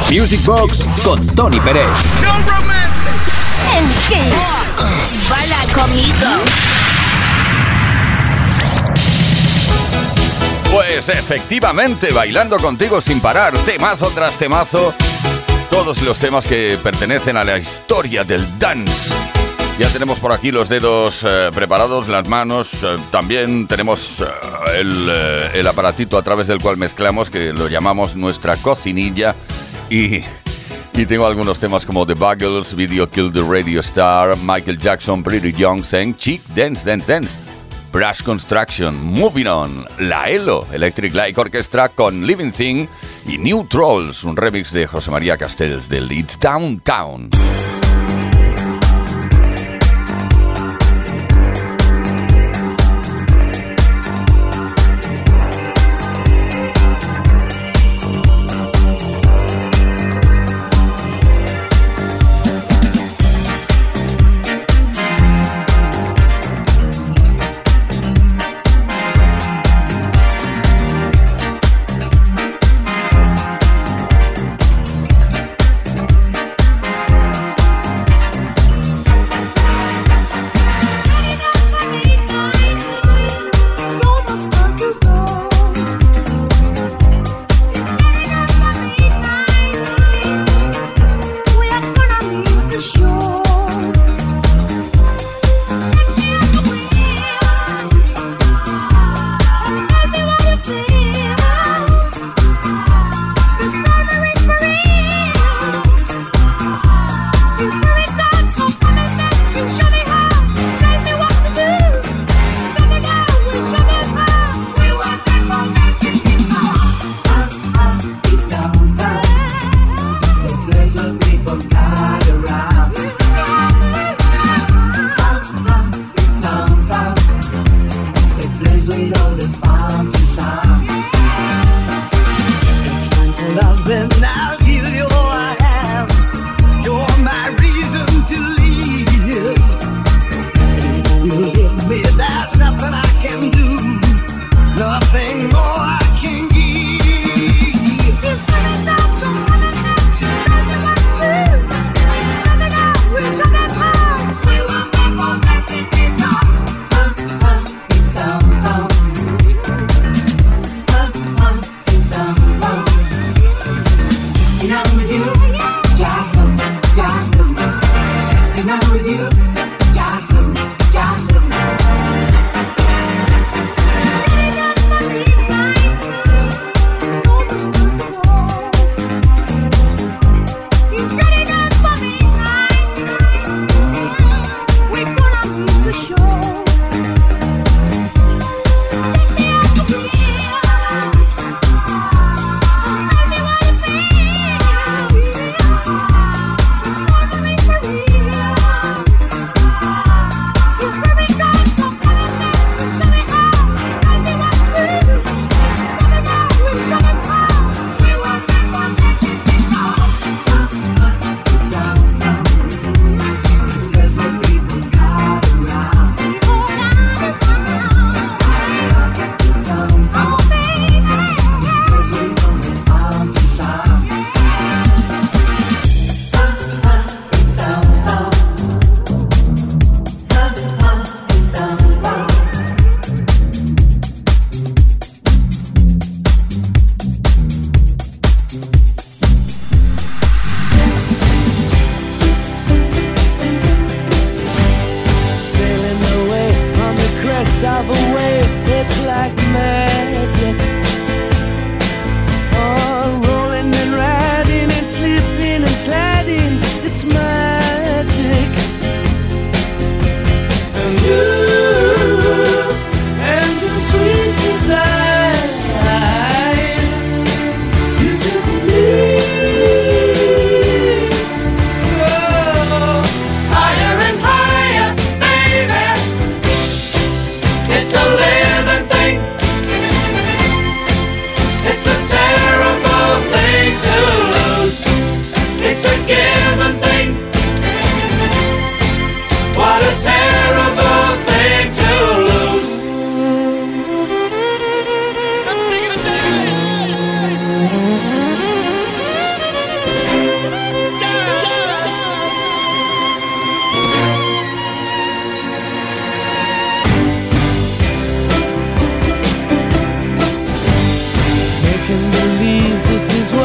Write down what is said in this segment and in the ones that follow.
Music Box con Tony Pérez. No romance. En Kiss. Baila conmigo. Pues efectivamente, bailando contigo sin parar, temazo tras temazo, todos los temas que pertenecen a la historia del dance. Ya tenemos por aquí los dedos preparados, las manos, también tenemos el aparatito a través del cual mezclamos, que lo llamamos nuestra cocinilla, y tengo algunos temas como The Buggles, Video Killed the Radio Star, Michael Jackson, Pretty Young, Saying Chic, Dance, Dance, Dance, Brush Construction, Moving On, La ELO, Electric Light Orchestra con Living Thing y New Trolls, un remix de José María Castells del It's Downtown.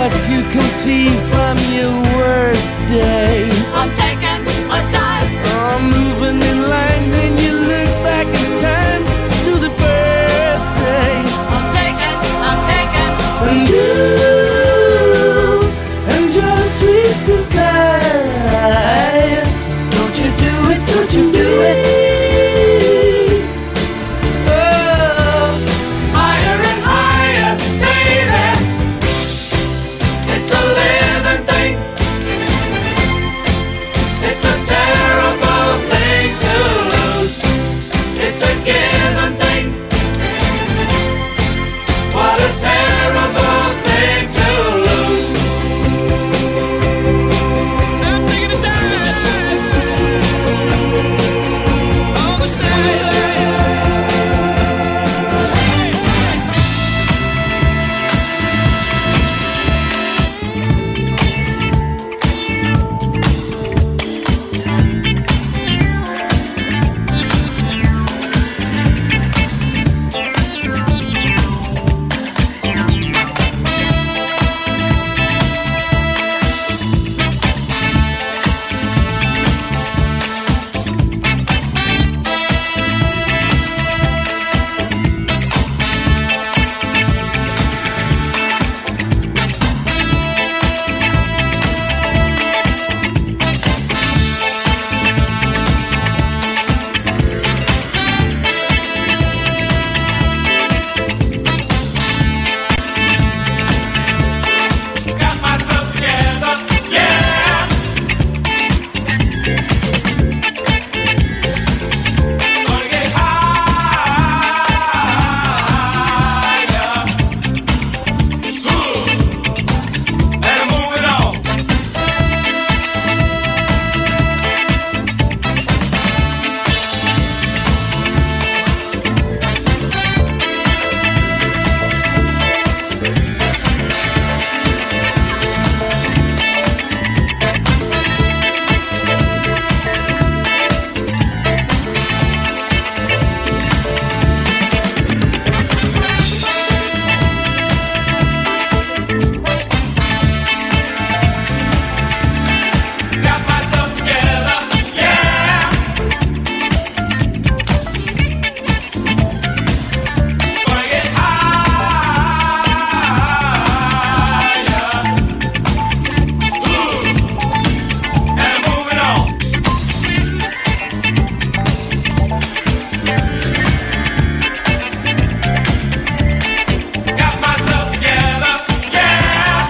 what you can see from your worst day. I'm taking a dive. I'm moving in line, then you look back in time to the first day. I'm taking. And you and your sweet desire. Don't you do it, don't you do it. Higher and higher, baby. It's a living thing. It's a terrible thing to lose. It's a given thing. What a terrible thing to lose. I'm taking a dive on the stage. Got myself together, yeah. Gonna get higher. And I'm moving on. Got myself together, yeah. Gonna get higher. And I'm moving on. Got myself together, yeah.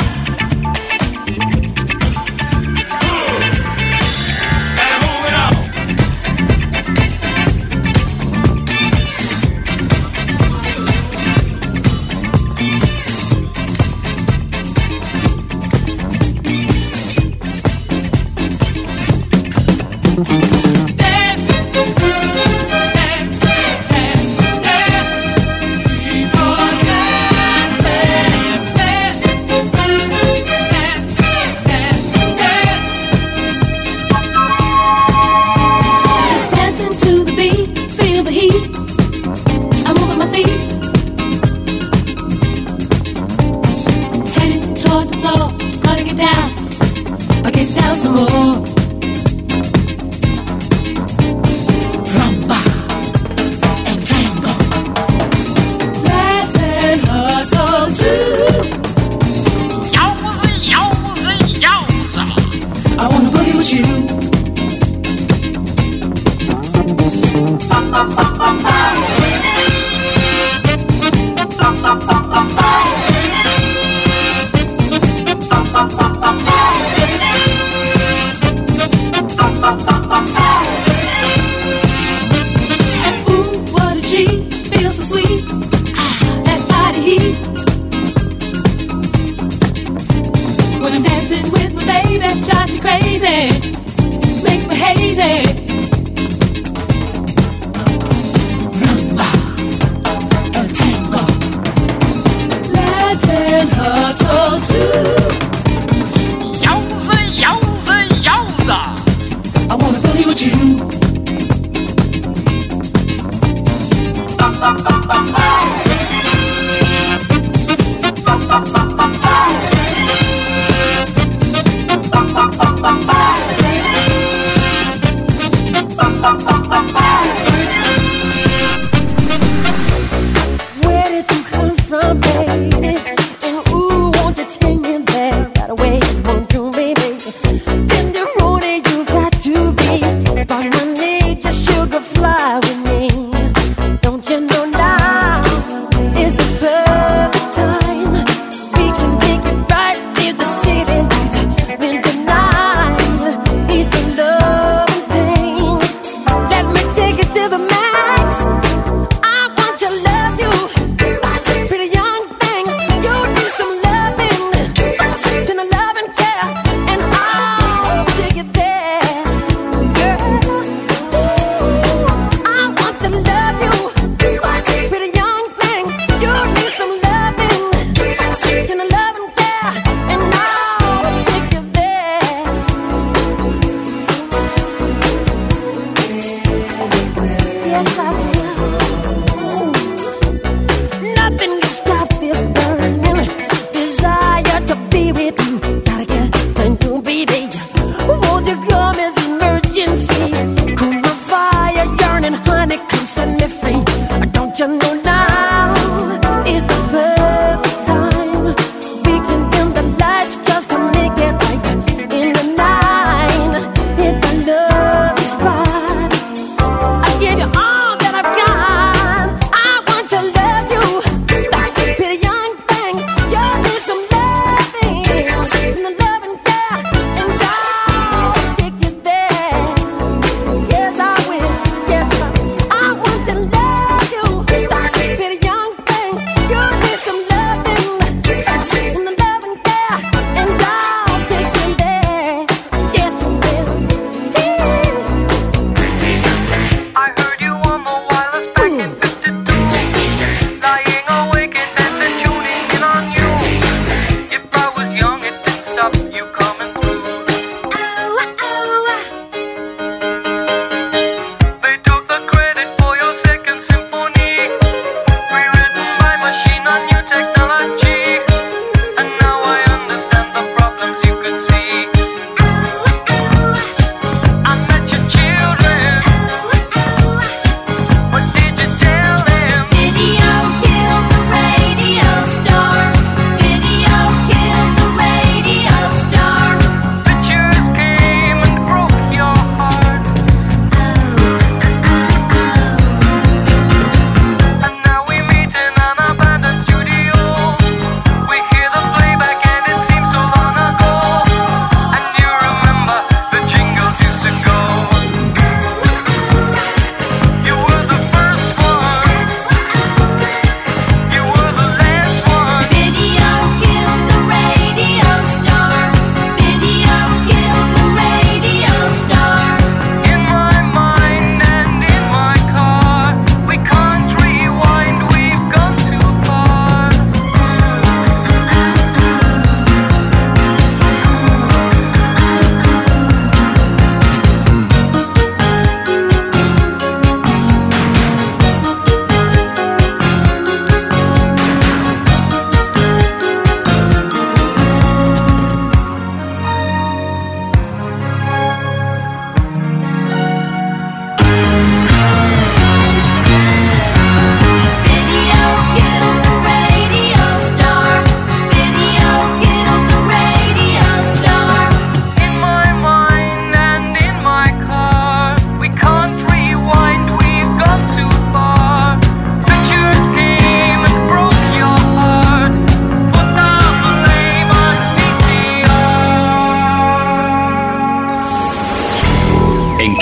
And I'm moving on. Just dancing to the beat, feel the heat. I'm moving my feet, heading towards the floor. Gonna get down, I'll get down some more. Rumba and tango, Latin hustle too. I wanna boogie with you. Ooh, what a G, feels so sweet. That body heat. When I'm dancing with my baby, drives me crazy, makes me hazy. Rumba and tango, Latin hustle too. I wanna boogie with you.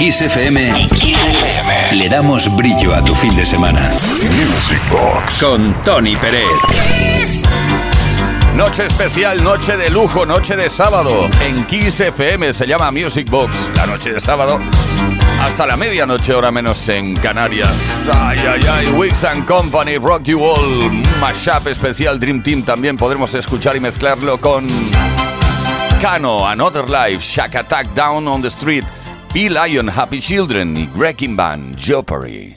Kiss FM le damos brillo a tu fin de semana. Music Box con Tony Pérez. Noche especial, noche de lujo, noche de sábado. En Kiss FM se llama Music Box. La noche de sábado hasta la medianoche, hora menos en Canarias. Ay, ay, ay. Wix & Company, Rock You All. Mashup especial Dream Team. También podremos escuchar y mezclarlo con Kano, Another Life, Shack Attack, Down on the Street, P-Lion, Happy Children y Wrecking Band, Jeopardy.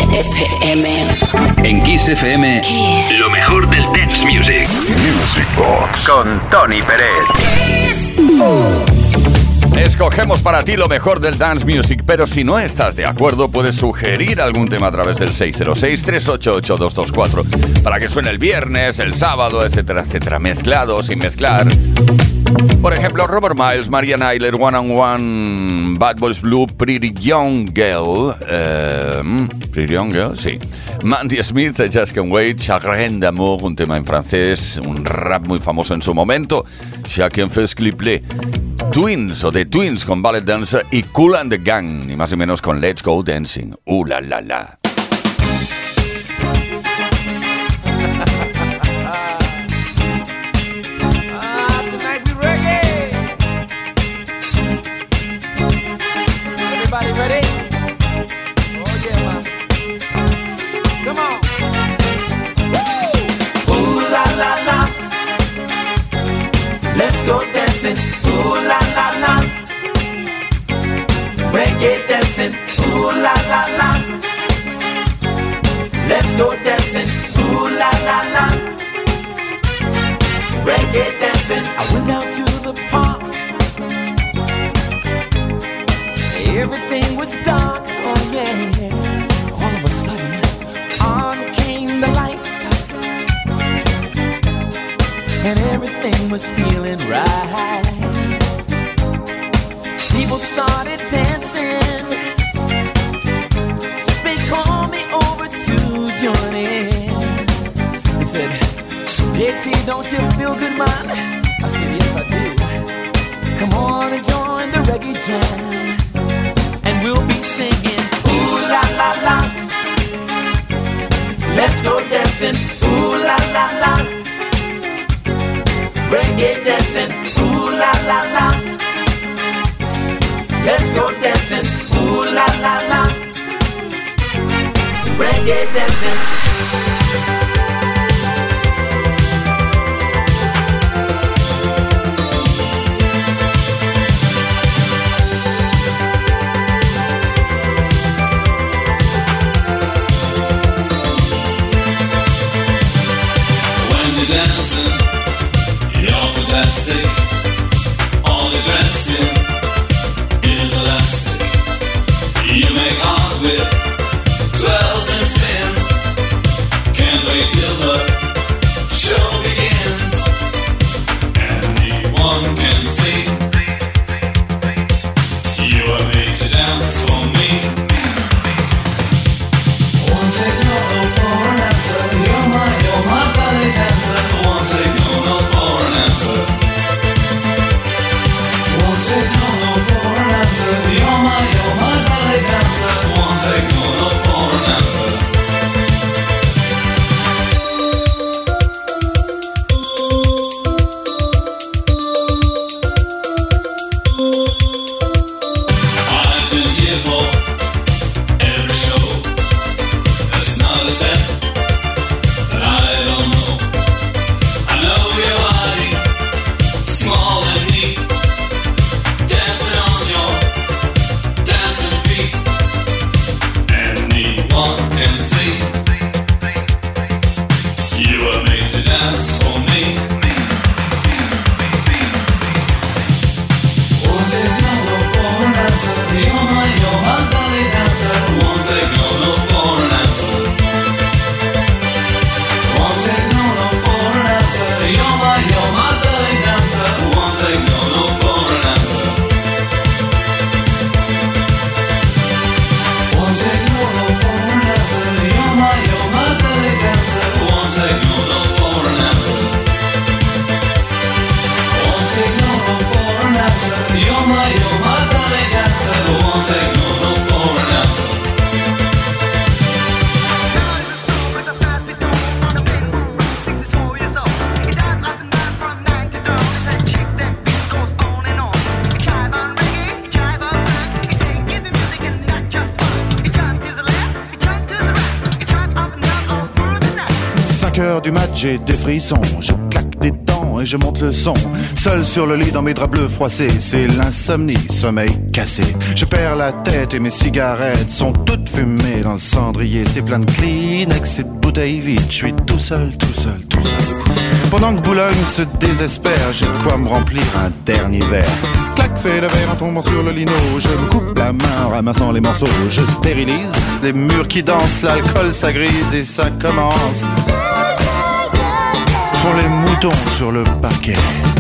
FM. En Kiss FM, Kiss. lo mejor del dance music. Music Box con Tony Pérez. Escogemos para ti lo mejor del dance music, pero si no estás de acuerdo, puedes sugerir algún tema a través del 606-388-224 para que suene el viernes, el sábado, etcétera, etcétera, mezclado, sin mezclar. Por ejemplo, Robert Miles, Marian Ayler, One on One, Bad Boys Blue, Pretty Young Girl, sí. Mandy Smith, Just Can't Wait, Chagrin d'amour, un tema en francés, un rap muy famoso en su momento, Chacun fait ce qu'il plaît. Twins o The Twins con Ballet Dancer y Kool and the Gang, ni más ni menos con Let's Go Dancing. La la la. Tonight we reggae. Everybody ready? Oh yeah, man. Come on. Woo! Ooh la la la. Let's go dancing. Ooh la la la. Reggae dancing. Ooh la la la. Let's go dancing. Ooh la la la. Reggae dancing. I went down to the park. Everything was dark. Oh yeah. All of a sudden, on came the lights. And everything was feeling right. People started dancing. They called me over to join in. They said, JT, don't you feel good, man? I said, yes, I do. Come on and join the reggae jam. And we'll be singing, ooh la la la. Let's go dancing, ooh la la la. Reggae dancing, ooh la la la. Let's go dancing, ooh la la la. Reggae dancing. When you're dancing, you're fantastic. All the dressing is elastic. You make art with twirls and spins. Can't wait till the show begins. Anyone can see you are made to dance for me. Won't take no for an answer. You're my belly dancer. Won't take no for an answer. Won't take no for an answer. You're my belly dancer. Won't take no for an answer. I've been here for every show. There's not a step that I don't know. I know your body, small and neat, dancing on your dancing feet. Anyone can see you were made to dance for me. Won't take no for an answer. You're my belly dancer. Won't take no for an answer. Won't take no for an answer. You're my belly dancer. Won't take no for an answer. Won't take no for an answer. You're my belly dancer. Won't take no for an answer. Won't take no for an answer. You're my belly dancer. Won't take no for an answer. Heures du match, j'ai des frissons, je claque des dents et je monte le son. Seul sur le lit dans mes draps bleus froissés, c'est l'insomnie, sommeil cassé. Je perds la tête et mes cigarettes sont toutes fumées dans le cendrier. C'est plein de Kleenex et de bouteilles vides, je suis tout seul. Pendant que Boulogne se désespère, j'ai de quoi me remplir un dernier verre. Clac, fait le verre en tombant sur le lino. Je me coupe la main en ramassant les morceaux. Je stérilise les murs qui dansent, l'alcool ça grise et ça commence. Font les moutons sur le parquet.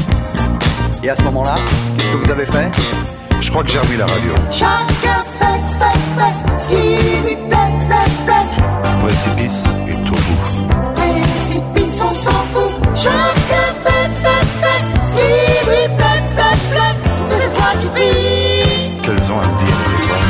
Et à ce moment-là, qu'est-ce que vous avez fait? Je crois que j'ai remis la radio. Chacun fait, ce qui lui plaît. Précipice et tout bout. Précipice, on s'en fout. Chacun fait, ce qui lui plaît. Toutes les étoiles qui brillent. Qu'elles ont à me dire, les étoiles?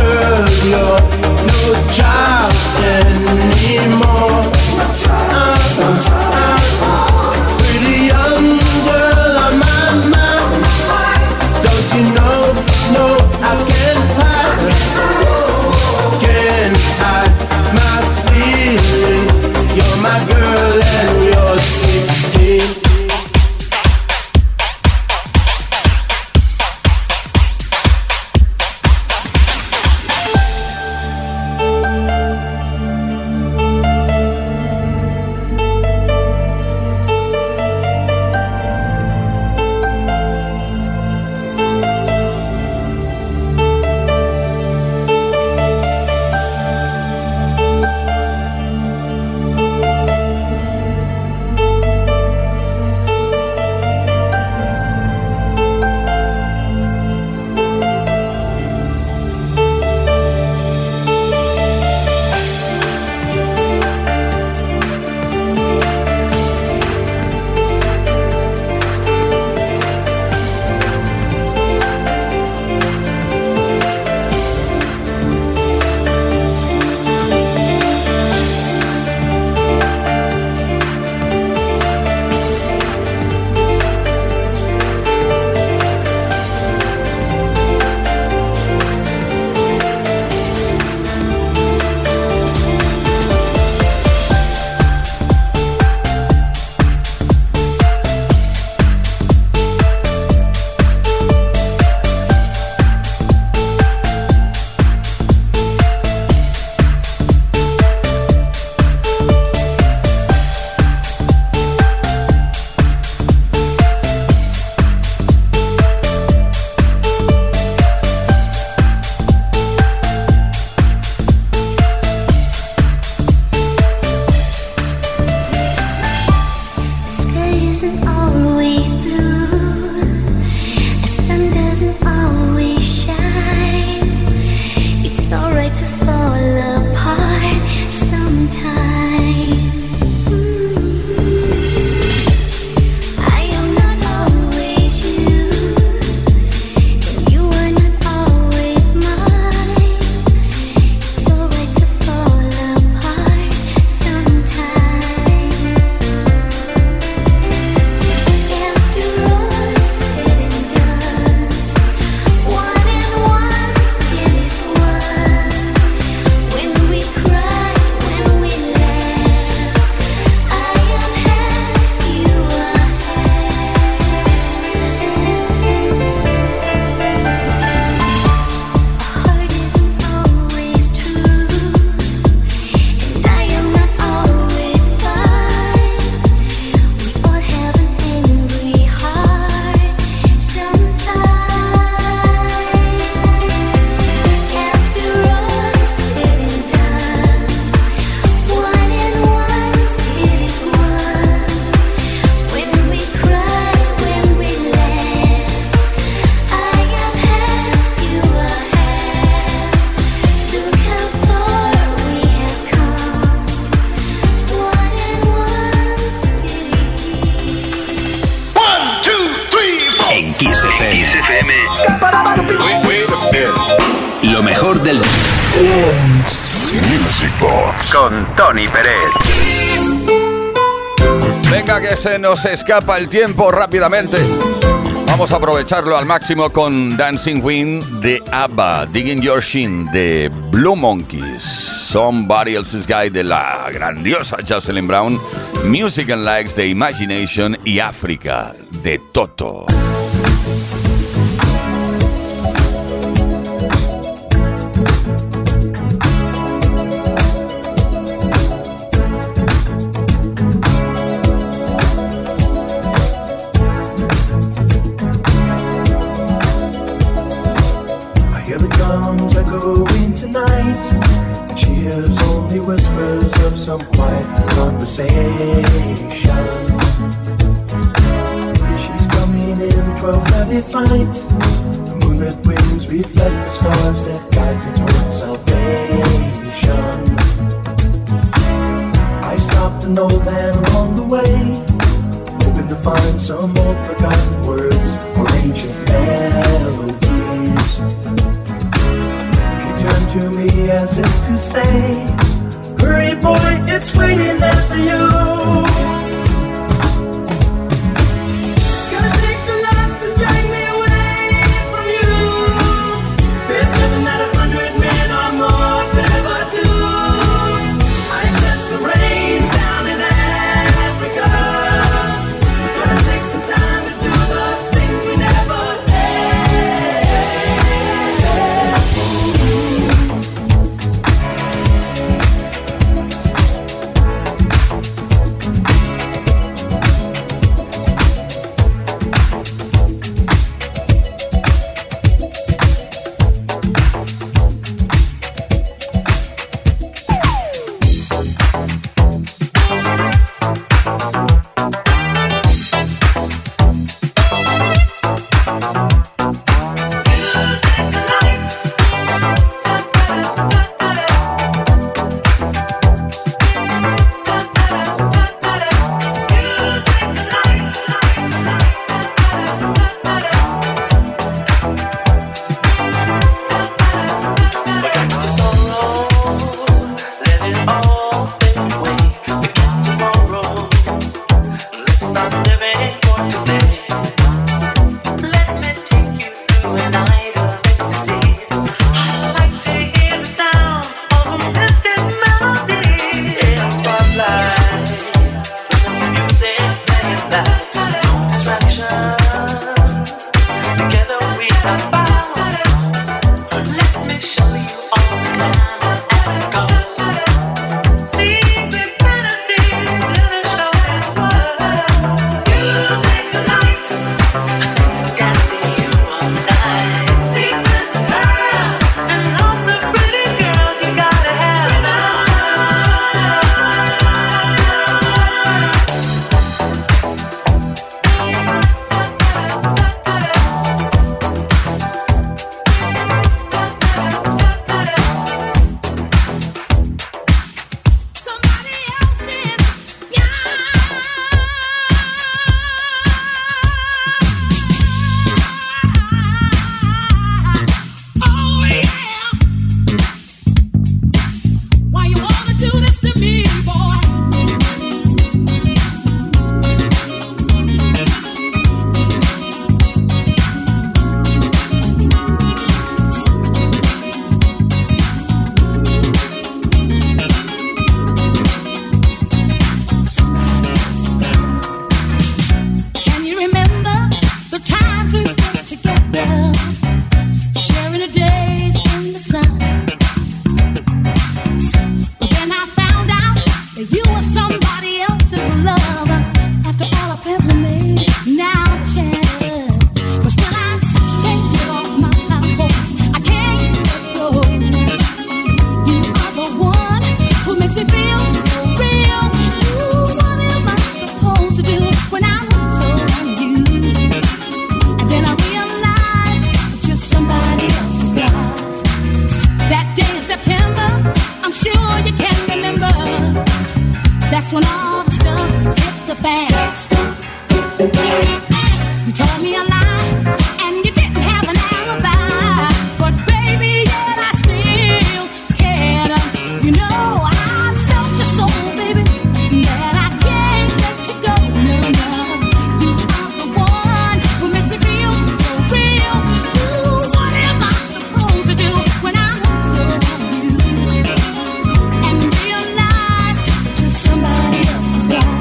Child anymore. isn't always blue, a sun doesn't always shine. It's alright to fall apart sometimes. Lo mejor del Music Box con Tony Pérez. Venga, que se nos escapa el tiempo rápidamente. Vamos a aprovecharlo al máximo con Dancing Queen de ABBA, Digging Your Shin de Blue Monkeys, Somebody Else's Guy de la grandiosa Jocelyn Brown, Music and Likes de Imagination y África de Toto. Some quiet conversation. She's coming in 12:30 flight. The moonlit wings reflect the stars that guide me towards salvation. I stopped an old man along the way, hoping to find some old forgotten words or ancient melodies. He turned to me as if to say, hurry boy, it's waiting there for you. Gonna take a left and drag me away from you. There's nothing that 100 men or more could ever do. I bless the rains down in Africa. We're gonna take some time to do the things we never did. You told me a lie, and you didn't have an alibi. But baby, yet I still cared. You know I felt your soul, baby, that I can't let you go. No, no, you are the one who makes me feel so real. Ooh, what am I supposed to do when I'm so you and realize that somebody else's guy?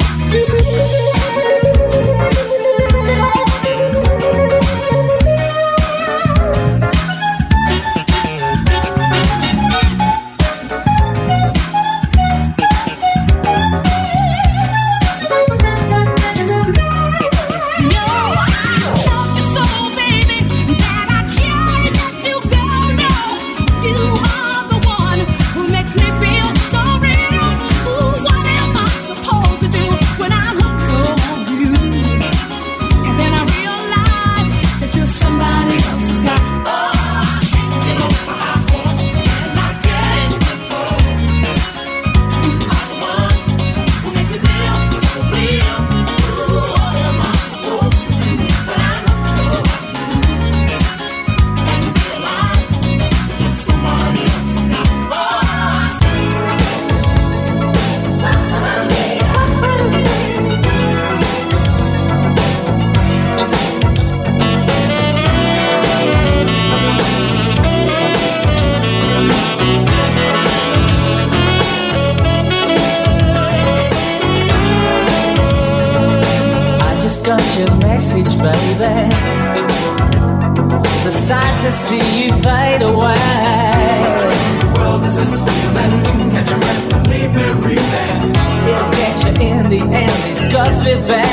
To see you fade away. The world is this feeling. Catch your breath and leave me breathing. It'll get you in the end. It's God's revenge.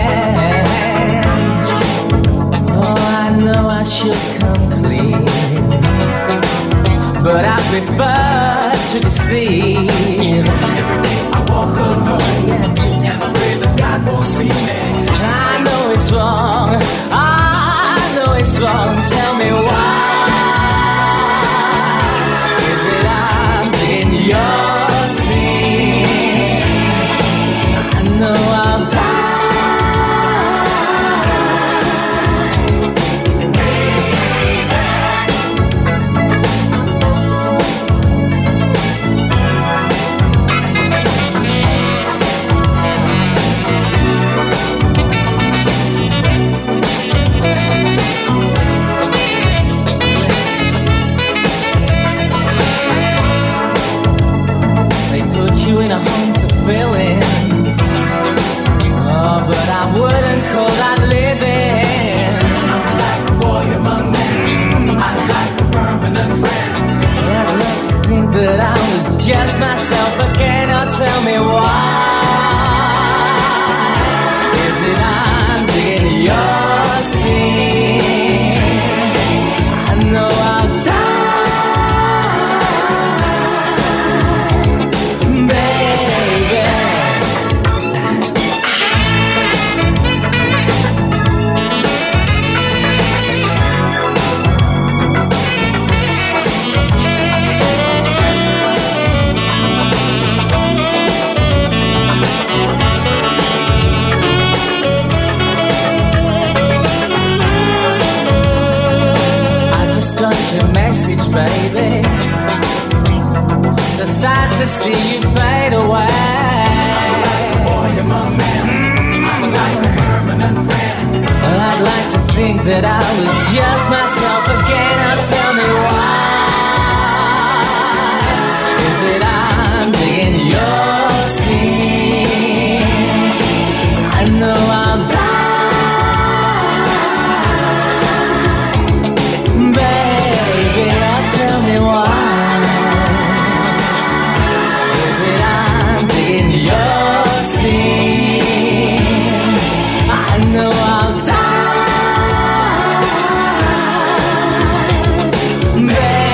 Oh, I know I should come clean, but I prefer to deceive. Every day I walk alone, and I pray that God won't see me. I know it's wrong. I know it's wrong. Tell me why. Is it I'm in your sin? I know I'll die. In a home to fill in. Oh, but I wouldn't call that living. I'm like a boy among men. I'm like a permanent friend. I'd love to think that I was just myself again. Oh, tell me why. Is it I'm digging your sin? I know I'll die. Message, baby. So sad to see you fade away. I'm like a boy among men. I'm like a permanent friend. Well, I'd like to think that I was just myself again. Now tell me why. Is it I'm digging your sin? I know I'll die. Tell me why. Is it I'm digging your sin? I know I'll die. Baby.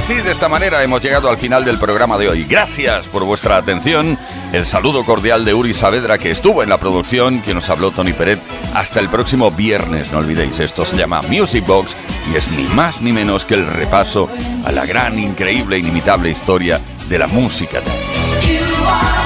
así, de esta manera, hemos llegado al final del programa de hoy. Gracias por vuestra atención. El saludo cordial de Uri Saavedra, que estuvo en la producción, que nos habló Tony Peret. Hasta el próximo viernes, no olvidéis, esto se llama Music Box y es ni más ni menos que el repaso a la gran, increíble, inimitable historia de la música.